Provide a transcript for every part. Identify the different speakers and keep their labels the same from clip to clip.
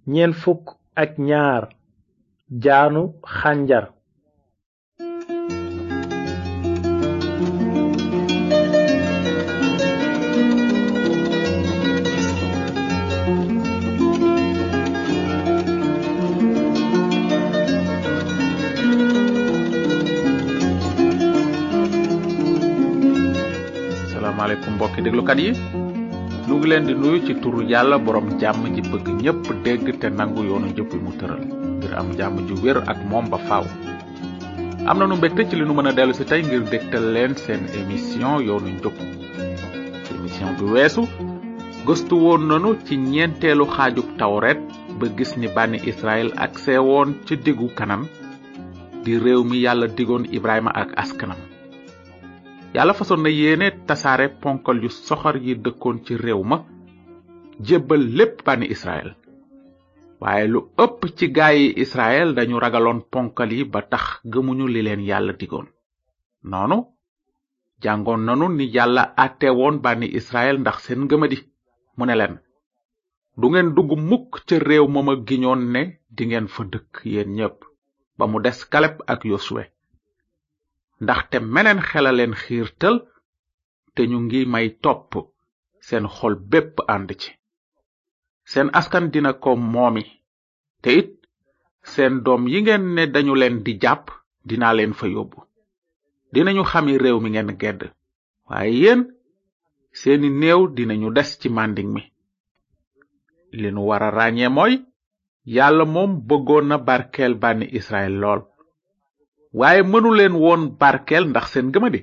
Speaker 1: 42 jaanu xànjar.
Speaker 2: asalaamaaleykum mbokki déglukat yi nu ngi leen di nuyu ci turu yàlla borom jàmm ji bëgg ñépp dégg te nangu yoonu njëpp mu tëral ngir am jàmm ju wér ak moom ba faaw. am na nu mbégte ci li nu mën a dellu si tey ngir dégtal leen seen émission yoonu njëpp. ci émission bi weesu gëstu woon nanu ci ñeenteelu xaajub tawret ba gis ni bànni Israël ak seewoon ci diggu Kanaan di réew mi yàlla digoon Ibrahima ak askanam. yàlla fasoon na yéene tasaare ponkal yu soxor yi dëkkoon ci réew ma jébbal lépp bànni Israël. waaye lu ëpp ci gaayi Israël dañu ragaloon ponkal yi ba tax gëmuñu li leen yàlla digoon. noonu jàngoon nanu ni yàlla àtte woon bànni Israël ndax seen ngëmadi. mu ne leen du ngeen dugg mukk ca réew ma ma giñoon ne dingeen fa dëkk yéen ñépp ba mu des Kaleb ak Yosuwe. ndaxte meneen xela leen xiirtal te ñu ngi may topp seen xol bépp ànd ci. seen askan dina ko moomi te it seen doom yi ngeen ne dañu leen di jàpp dinaa leen fa yóbbu. dinañu xami réew mi ngeen gedd waaye yéen seeni néew dinañu des ci màndiŋ mi. li nu wara ràññee mooy yàlla moom bëggoon na barkeel bànni Israël lool. waaye mënu leen woon barkeel ndax seen gëmadi.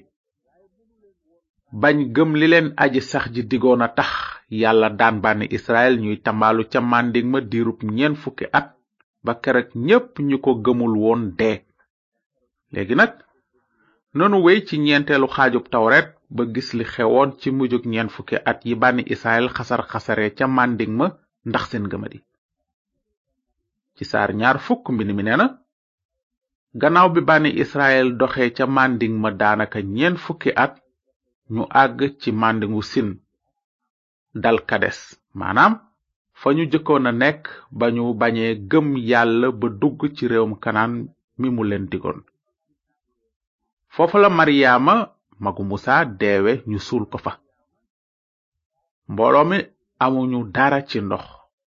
Speaker 2: bañ gëm li leen aji sax ji digoon a tax yàlla daan bànni Israël ñuy tambaalu ca màndiŋ ma diirub 40 at ba keroog ñépp ñu ko gëmul woon dee. léegi nag nanu wey ci ñeenteelu xaajub tawret ba gis li xewoon ci mujjug 40 at yi bànni Israël xasar-xasare ca màndiŋ ma ndax seen gëmadi. ci saar 20 mbind mi nee na gannaaw bi bànni Israël doxee ca màndiŋ ma daanaka 40 at ñu àgg ci màndiŋu Sin dal Kades maanaam fa ñu jëkkoon a nekk ba ñu bañee gëm yàlla ba dugg ci réewum Kanaan mi mu leen digoon. foofa la Maryaama magu Musa deewe ñu suul ko fa. mbooloo mi amuñu dara ci ndox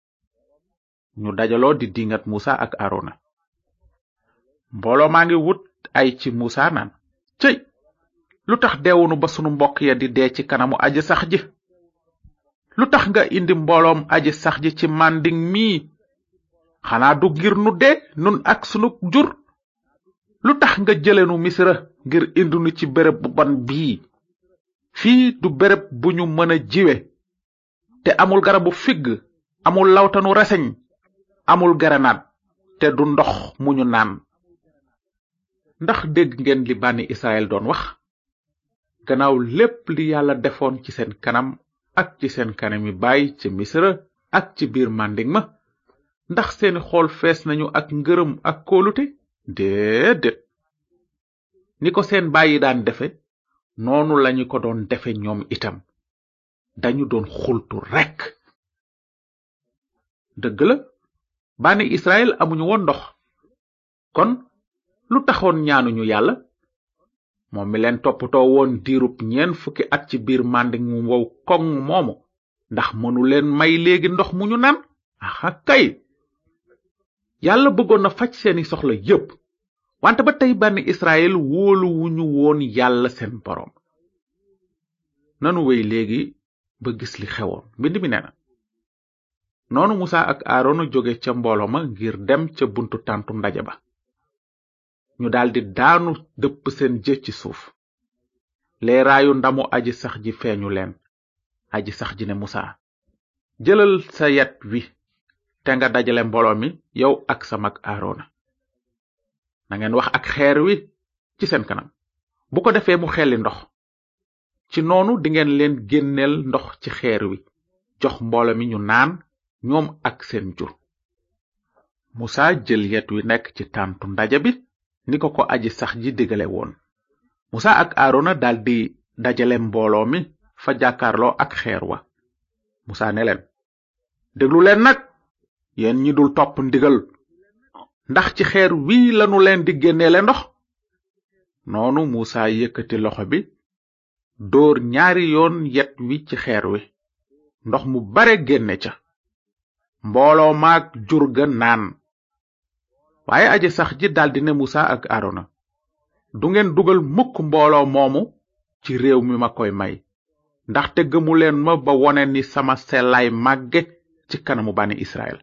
Speaker 2: ñu dajaloo di dingat Musa ak Arona. mbooloo maa ngi wut ay ci Musa naan cëy lu tax deewunu ba sunu mbokk ya di dee ci kanamu aji sax ji. lu tax nga indi mbooloom aji sax ji ci màndiŋ mii xanaa du ngir nu dee nun ak sunu jur. lu tax nga jëlenu Misra ngir indi nu ci béréb bu bon bii. fii du béréb bu ñu mën a jiwe te amul garabu figg amul lawtanu reseñ amul gerenaat te du ndox mu ñu naan. ndax dégg ngeen li bànni Israël doon wax gannaaw lépp li yàlla defoon ci seen kanam ak ci seen kanami baay ci Misra ak ci biir màndiŋ ma ndax seeni xool fees nañu ak ngërëm ak kóolute. déedéet ni ko seen baay yi daan defe noonu lañu ko doon defe ñoom itam dañu doon xultu rekk. dëgg la bànni Israël amuñu woon ndox kon lu taxoon ñaanuñu yàlla moom mi leen toppatoo woon diirub 40 at ci biir màndiŋ mu wow koŋ moomu ndax mënu leen may léegi ndox mu ñu naan. aha kay yàlla bëggoon na faj seeni soxla yépp wante ba tey bànni Israël wóolu wuñu woon yàlla seen boroom. nanu wey léegi ba gis li xewoon. mbind mi nee na noonu Musa ak Aarona jóge ca mbooloo ma ngir dem ca buntu tàntu ndaje ba. ñu daldi daanu dëpp seen jë ci suuf. leeraayu ndamu aji sax ji feeñu leen. aji sax ji ne Musa jëlal sa yet wi te nga dajale mbooloo mi yow ak sa mag Aarona. nangeen wax ak xeer wi ci seen kanam bu ko defee mu xelli ndox. ci noonu dingeen leen génneel ndox ci xeer wi jox mbooloo mi ñu naan ñoom ak seen jur. Musa jël yet wi nekk ci tàntu ndaje bi ni ko aji sax ji digale woon. Musa ak Aarona daldi dajale mbooloo mi fa jàkkaarloo ak xeer wa. Musa ne leen déglu leen nag yéen ñi dul topp ndigal, ndax ci xeer wi lanu leen di génneele ndox? noonu Musa yëkkati loxo bi dóor ñaari yoon yet wi ci xeer wi, ndox mu bare génne ca, mbooloo maag jur ga naan. waaye aji sax ji daldi ne Musa ak Arona, du ngeen dugal mukk mbooloo moomu ci réew mi ma koy may, ndaxte gëmu leen ma ba wone ni sama sellaay màgge ci kanamu bani Israël.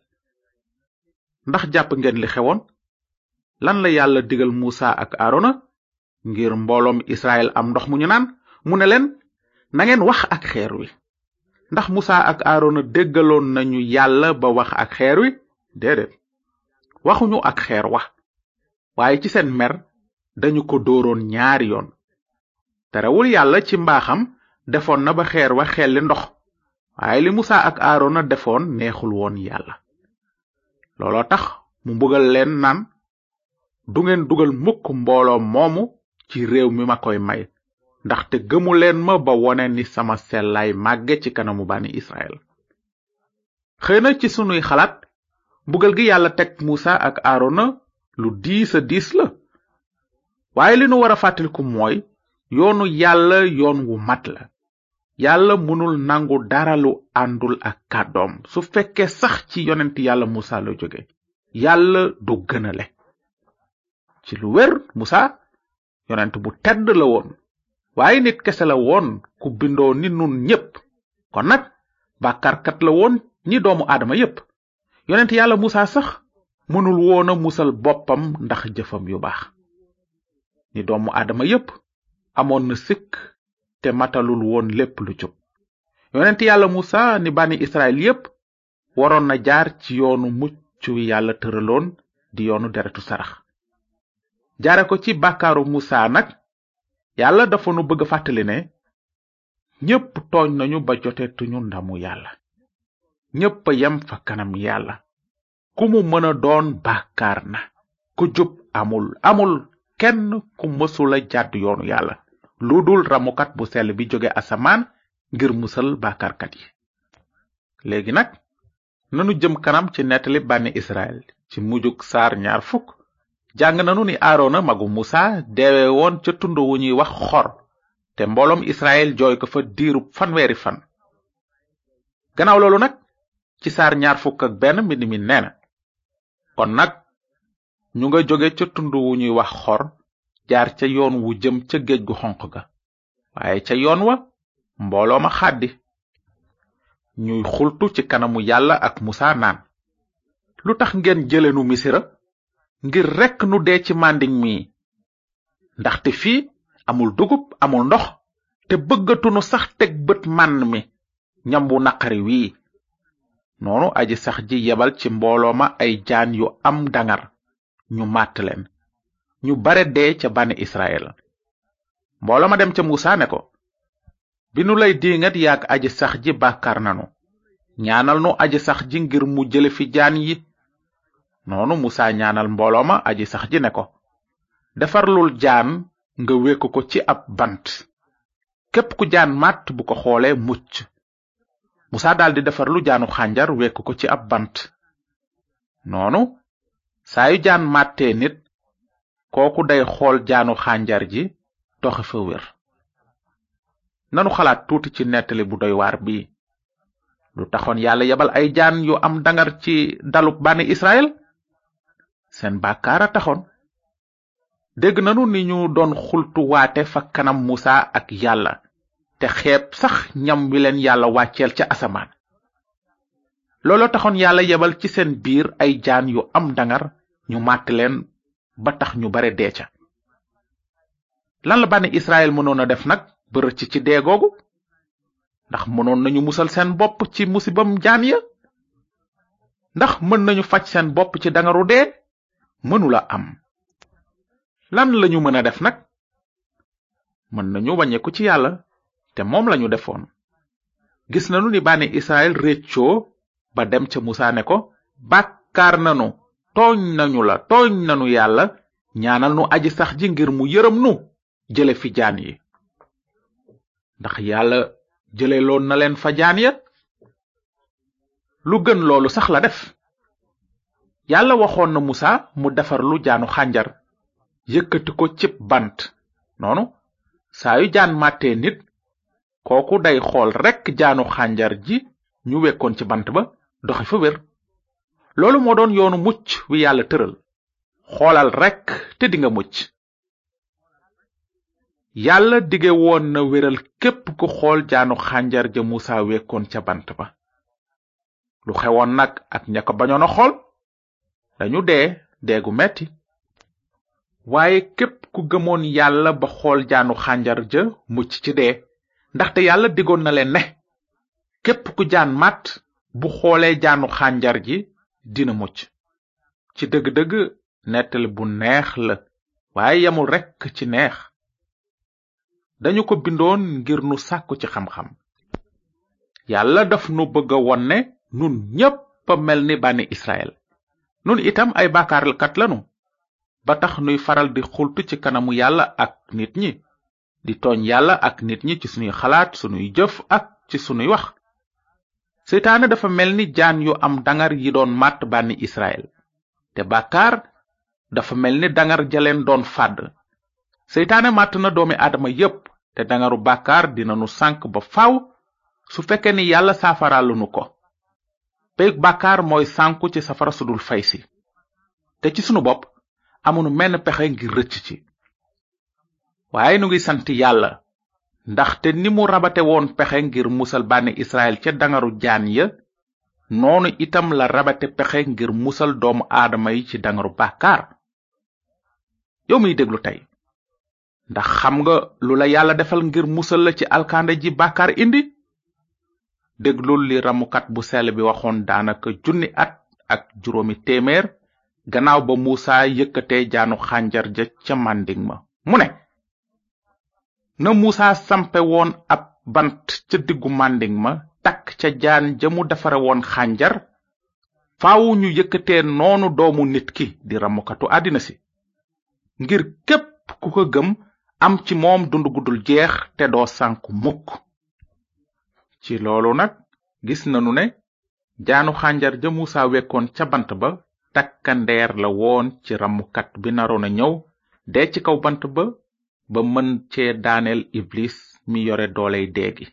Speaker 2: ndax jàpp ngeen li xewoon? lan la yàlla digal Musa ak Arona ngir mbooloom Israël am ndox mu ñu naan? mu ne leen, na ngeen wax ak xeer wi. ndax Musa ak Arona déggaloon nañu yàlla ba wax ak xeer wi? déedéet, waxuñu ak xeer wa, waaye ci seen mer dañu ko dóoroon ñaari yoon. terewul yàlla ci mbaaxam defoon na ba xeer wa xelli ndox, waaye li Musa ak Arona defoon neexul woon yàlla. looloo tax mu mbugal leen naan, du ngeen dugal mukk mbooloo moomu ci réew mi ma koy may, ndaxte gëmu leen ma ba wone ni sama sellaay màgge ci kanamu bani Israël. xëy na ci sunuy xalaat mbugal gi yàlla teg Musa ak Arona lu diis a diis la, waaye li nu war a fàttaliku mooy yoonu yàlla yoon wu mat la. yàlla mënul nangu dara lu àndul ak kàddoom. su fekkee sax ci yonent yàlla Musa la jóge, yàlla du gënale. ci lu wér, Musa yonent bu tedd la woon, waaye nit kese la woon ku bindoo ni nun ñépp, kon nag bàkkaarkat la woon ni doomu aadama yépp. yonent yàlla Musa sax mënul woon a musal boppam ndax jëfam yu baax. ni doomu aadama yépp amoon na sikk te matalul woon lépp lu jub. yonent yàlla Musa ni bani Israël yépp waroon na jaar ci yoonu mucc wi yàlla tëraloon di yoonu deretu sarax. jaare ko ci bàkkaaru Musa nag, yàlla dafa nu bëgg fàttali ne ñépp tooñ nañu ba jotetuñu ndamu yàlla. ñépp a yem fa kanam yàlla. ku mu mën a doon bàkkaar na. ku jub amul kenn ku mësula jàdd yoonu yàlla, lu dul ramukat bu sell bi jóge asamaan ngir musal bàkkaarkat yi. léegi nag nanu jëm kanam ci nettali bànni Israël. ci mujjug saar 20 jàng nanu ni Arona magu Musa deewe woon ca tund wu ñuy wax Xor, te mbooloom Israël jooy ko fa diirub fanweeri fan. gannaaw loolu nag ci saar 21 mbind mi nee na, kon nag ñu nga jóge ca tund wu ñuy wax Xor jaar ca yoon wu jëm ca géej gu xonq ga, waaye ca yoon wa mbooloo ma xàddi. ñuy xultu ci kanamu yàlla ak Musa naan, lu tax ngeen jëlenu Misira ngir rekk nu dee ci màndiŋ mi? ndaxte fii amul dugub amul ndox, te bëggatunu sax teg bët mànn mi, ñam wu naqari wii. noonu aji sax ji yebal ci mbooloo ma ay jaan yu am dangar, ñu màtt leen. ñu bare dee ca bani Israël. mbooloo ma dem ca Musa ne ko, bi nu lay diingat yaak aji sax ji bàkkaar nanu, ñaanal nu aji sax ji ngir mu jële fi jaan yi. noonu Musa ñaanal mbooloo ma aji sax ji ne ko, defarlul jaan nga wekk ko ci ab bant, képp ku jaan màtt bu ko xoolee mucc. Musa daldi defarlu jaanu xànjar wekk ko ci ab bant. noonu saa yu jaan màttee nit, kooku day xool jaanu xànjar ji doxe fa wér. nanu xalaat tuuti ci nettali bu doy waar bii. lu taxoon yàlla yebal ay jaan yu am dangar ci dalub bani Israël? seen bàkkaar a taxoon. dégg nanu ni ñu doon xultu waate fa kanam Musa ak yàlla, te xeeb sax ñam wi leen yàlla wàcceel ca asamaan. looloo taxoon yàlla yebal ci seen biir ay jaan yu am dangar, ñu màtt leen ba tax ñu bare dee ca. lan la bani Israël mënoon a def nag ba rëcc ci dee googu? ndax mënoon nañu musal seen bopp ci musibam jaan ya? ndax mën nañu faj seen bopp ci dangaru dee? mënula am. lan lañu mën a def nag? mën nañu wàññeeku ci yàlla, te moom lañu defoon. gis nanu ni bani Israël réccoo ba dem ca Musa ne ko, bàkkaar nanu, tooñ nanu yàlla, ñaanal nu aji sax ji ngir mu yërëm nu jële fi jaan yi. ndax yàlla jële loon na leen fa jaan ya? lu gën loolu sax la def. yàlla waxoon na musa mu defar lu jaanu xànjar yëkkati ko cib bant noonu saa yu jaan màttee nit kooku day xool rekk jaanu xànjar ji ñu wekkoon ci bant ba doxi fa wér. loolu moo doon yoonu mucc wi yàlla tëral xoolal rekk te dinga mucc. yàlla dige woon na wéral képp ku xool jaanu xànjar ja musa wekkoon ca bant ba. lu xewoon nag ak ña ko bañoon a xool dañu deegu metti. waaye képp ku gëmoon yàlla ba xool jaanu xànjar ja mucc ci dee ndaxte yàlla digoon na leen ne képp ku jaan màtt bu xoolee jaanu xànjar ji dina mucc. ci dëgg-dëgg nettali bu neex la waaye yamul rekk ci neex. dañu ko bindoon ngir nu sàkku ci xam-xam. yàlla daf nu bëgg a won ne nun ñépp a mel ni bànni Israël. nun itam ay bàkkaarkat lanu ba tax nuy faral di xultu ci kanamu yàlla ak nit ñi di tooñ yàlla ak nit ñi ci sunuy xalaat sunuy jëf ak ci sunuy wax. seytaane dafa mel ni jaan yu am dangar yi doon màtt bànni Israël te bàkkaar dafa mel ni dangar jaleen doon fàdd. seytaane màtt na doomi aadama yépp te dangaru bàkkaar dina nu sànk ba faaw su fekkee ni yàlla saafaralu nu ko. peyug bàkkaar mooy sànku ci safara sudul fay si te ci sunu bopp amunu menn pexe ngir rëcc ci. waaye nu ngi sant yàlla ndaxte ni mu rabate woon pexe ngir musal bànni Israël ca dangaru jaan ya noonu itam la rabate pexe ngir musal doomu aadama yi ci dangaru bàkkaar. yow miy déglu tey ndax xam nga lu la yàlla defal ngir musal la ci alkande ji bàkkaar indi. déglul li ramukat bu sell bi waxoon daanaka 1,000 at ak juróomi téeméer gannaaw ba Musa yëkkatee jaanu xànjar ja ca màndiŋ ma mu ne na Musa sampe woon ab bant ca diggu màndiŋ ma takk ca jaan ja mu defare woon xànjar faawu ñu yëkkatee noonu doomu nit ki di ramukatu àddina si ngir képp ku ko gëm am ci moom dund gudul jeex te doo sànku mukk. ci loolu nag gis nanu ne jaanu xànjar ja Musa wekkoon ca bant ba takkandeer la woon ci ramukat bi naroon a ñëw dee ci kaw bant ba mën cee daaneel iblis mi yore dooley deegi.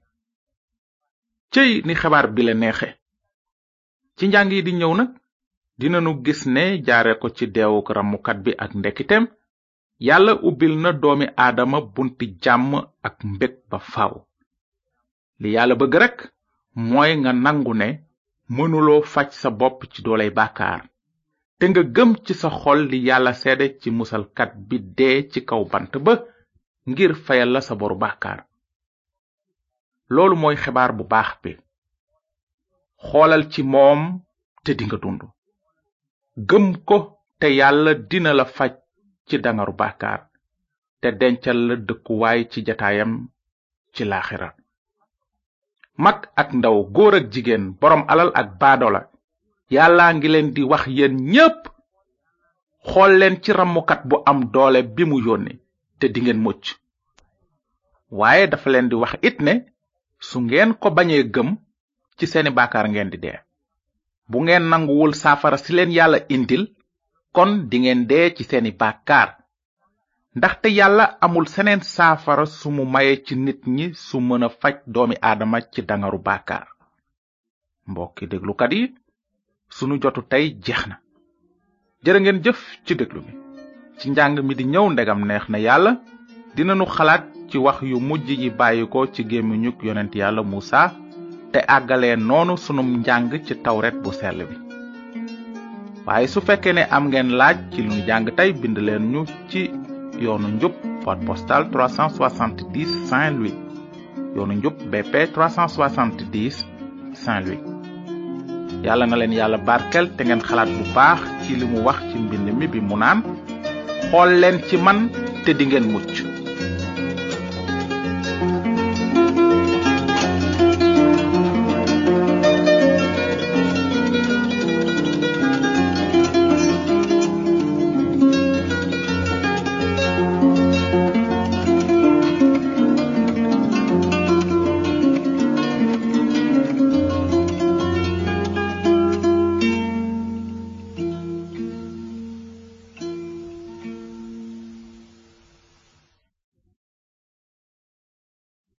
Speaker 2: cëy ni xabaar bi la neexe. ci njàng yi di ñëw nag dinanu gis ne jaare ko ci deewuk ramukat bi ak ndekiteem yàlla ubbil na doomi aadama bunti jàmm ak mbég ba faaw. li yàlla bëgg rekk mooy nga nangu ne mënuloo faj sa bopp ci dooley bàkkaar te nga gëm ci sa xol li yàlla seede ci musalkat bi dee ci kaw bant ba ngir fayal la sa boru bàkkaar. loolu mooy xibaar bu baax bi. xoolal ci moom te dinga dund. gëm ko te yàlla dina la faj ci dangaru bàkkaar te dencal la dëkkuwaay ci jataayam ci laaxira. mag ak ndaw góor ak jigéen boroom alal ak baadola yàlla ngi leen di wax yéen ñépp xool leen ci ramukat bu am doole bi mu yónni te dingeen mucc. waaye dafa leen di wax it ne su ngeen ko bañee gëm ci seeni bàkkaar ngeen di dee. bu ngeen nanguwul saafara si leen yàlla indil kon dingeen dee ci seeni bàkkaar ndaxte yàlla amul seneen saafara su mu maye ci nit ñi su mën a faj doomi aadama ci dangaru bàkkaar. mbokki déglukat yi sunu jotu tey jeex na. jërë ngeen jëf ci déglu bi. ci njàng mi di ñëw ndegam neex na yàlla dinanu xalaat ci wax yu mujj yi bàyyi ko ci gémmiñuk yonent yàlla Musa te àggalee noonu sunum njàng ci tawret bu sell bi. waaye su fekkee ne am ngeen laaj ci lu ñu jàng tey bind leen ñu ci yoonu njub boîte postale 370 Saint-Louis yoonu njub BP 370 Saint-Louis. yàlla na leen yàlla barkel te ngeen xalaat bu baax ci li mu wax ci mbind mi bi mu naan xool leen ci man te di ngeen mucc.